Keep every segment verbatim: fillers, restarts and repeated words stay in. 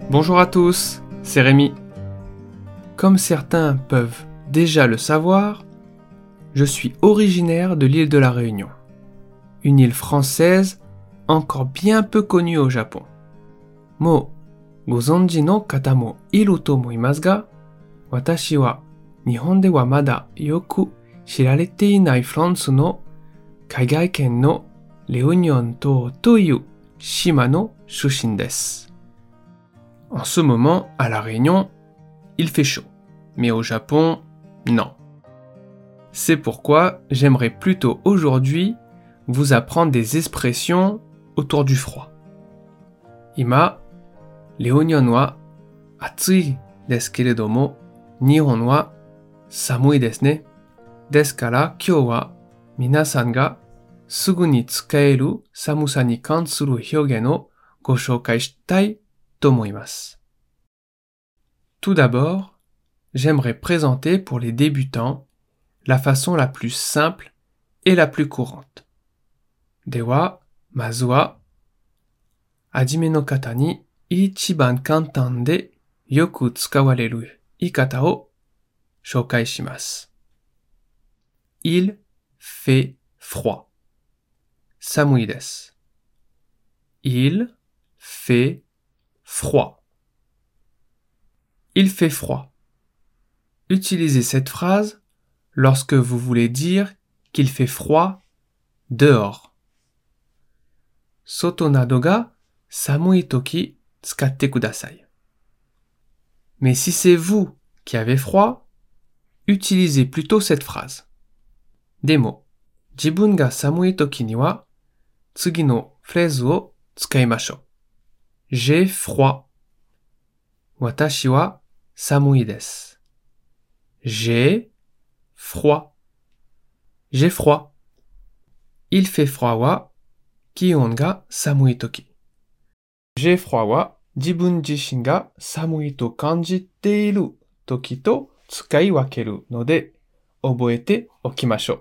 Bonjour à tous, c'est Rémi. Comme certains peuvent déjà le savoir, je suis originaire de l'île de la Réunion, une île française encore bien peu connue au Japon. Mo gozonji no kata mo iru to omoimasu ga, watashi wa Nihon de wa mada yoku shirarete inai France no kaigai ken no Réunion to toiu shima no shushin desu. En ce moment, à La Réunion, il fait chaud. Mais au Japon, non. C'est pourquoi j'aimerais plutôt aujourd'hui vous apprendre des expressions autour du froid. Ima, Réunion wa atsui desu keredomo, Nihon wa samui desu ne. Desu kara kyou wa minasan ga sugu ni tsukaeru samusa ni kansuru hyogen o go shoukai shitai to omoimasu. Tout d'abord, j'aimerais présenter pour les débutants la façon la plus simple et la plus courante. Dewa, mazu wa, hajime no kata ni ichiban kantan de yoku tsukawareru ikata o shoukai shimasu. Il fait froid. Samui desu. Il fait froid. Il fait froid. Utilisez cette phrase lorsque vous voulez dire qu'il fait froid dehors. Soto nado ga samui toki tsukatte kudasai. Mais si c'est vous qui avez froid, utilisez plutôt cette phrase. Demo, jibun ga samui toki ni wa tsugi no phrase o tsukaimashou. J'ai froid. Watashi wa samui desu. J'ai froid. J'ai froid. Il fait froid wa kion ga samui toki. J'ai froid wa jibun jishin ga samui to kanjite iru toki to tsukai wakeru node oboete okimashou.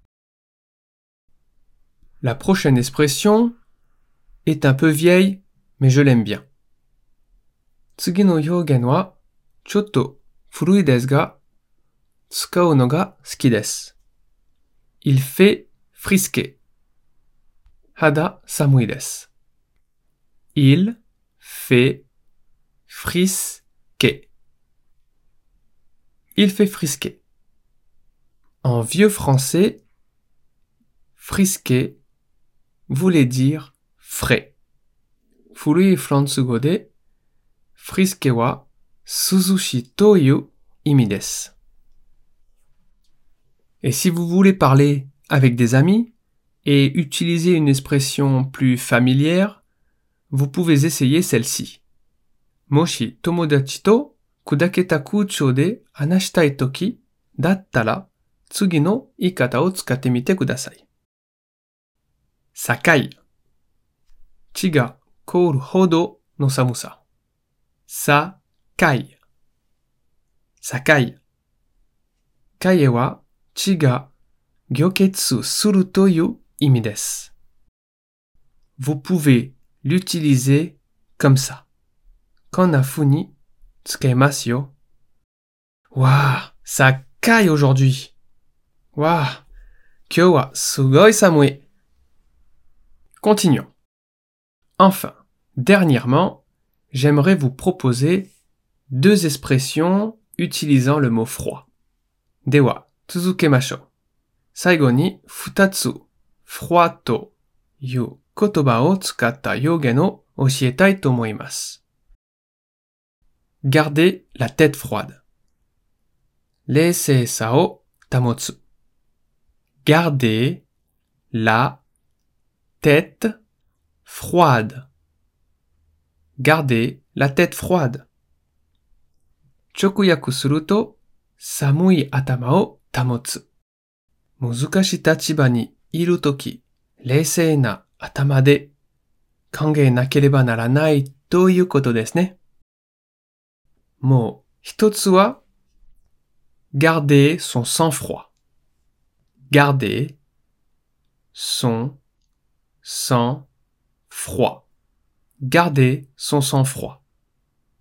La prochaine expression est un peu vieille, mais je l'aime bien. Tsugi no hyogen wa chotto furui desu ga tsukau no ga suki desu. Il fait frisquer. Hada samui desu. Il fait frisquer. Il fait frisquer. En vieux français, frisquer voulait dire frais. Furui fransugo de frisquer wa suzushi toyu imi desu. Et si vous voulez parler avec des amis et utiliser une expression plus familière, vous pouvez essayer celle-ci. Moshi tomodachi to kudaketa kouchou de hanashitai toki dattara tsugi no ikata o tsukatte mite kudasai. Sakai. Chi ga kouru hodo no samusa. Sakai. Sakai. Kaie wa chi ga gyoketsu suru toyu imi desu. Vous pouvez l'utiliser comme ça. Konafu ni tsukaimasu yo. Waouh, ça caille aujourd'hui. Waouh, kyou wa sugoi samui. Continuons. Enfin, dernièrement, j'aimerais vous proposer deux expressions utilisant le mot froid. Dewa, tsuzukemashou. Saigo ni futatsu froid to yu kotoba o tsukatta hyogen o oshietai to omoimasu. Gardez la tête froide. Reisei-sa o tamotsu. Gardez la tête froide. Gardez la tête froide. Chokuyaku suru to samui atama o tamotsu. Muzukashi tachiba ni iru toki, reisei na atama de kangee nakereba naranai to iu koto desu ne. Mo hitotsu wa garder son sang-froid. Garder son sang-froid. Garder son sang-froid.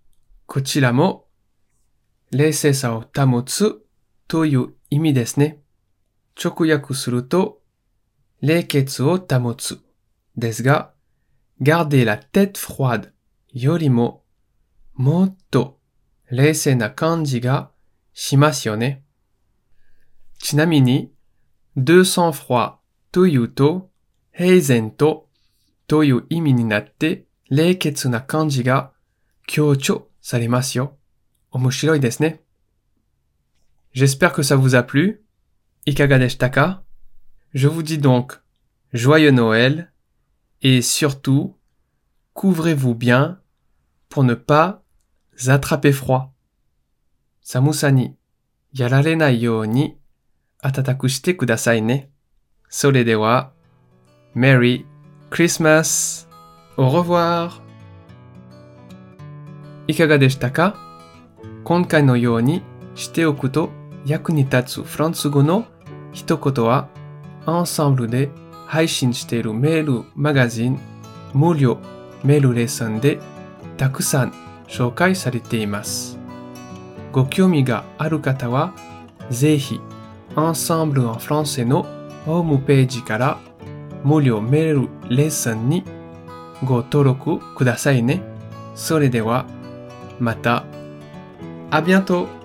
こちらも冷静さを保つという意味ですね。直訳すると、冷血を保つですが、garder la tête froide よりももっと冷静な感じがしますよね。ちなみに、de sang-froid というと、平然とという意味になって、冷血な感じが強調されますよ。面白いですね。J'espère que ça vous a plu. いかがでしたか? Je vous dis donc joyeux Noël et surtout couvrez-vous bien pour ne pas attraper froid. 寒さにやられないように暖かくしてくださいね。それでは、Merry Christmas! Au revoir! いかがでしたか? 今回のようにしておくと役に立つフランス語の一言は、アンサンブルで配信しているメールマガジン、無料メールレッスンでたくさん紹介されています。ご興味がある方は、ぜひ、Ensemble en français のホームページから無料メールレッスンにご登録くださいね。それでは、また、à bientôt!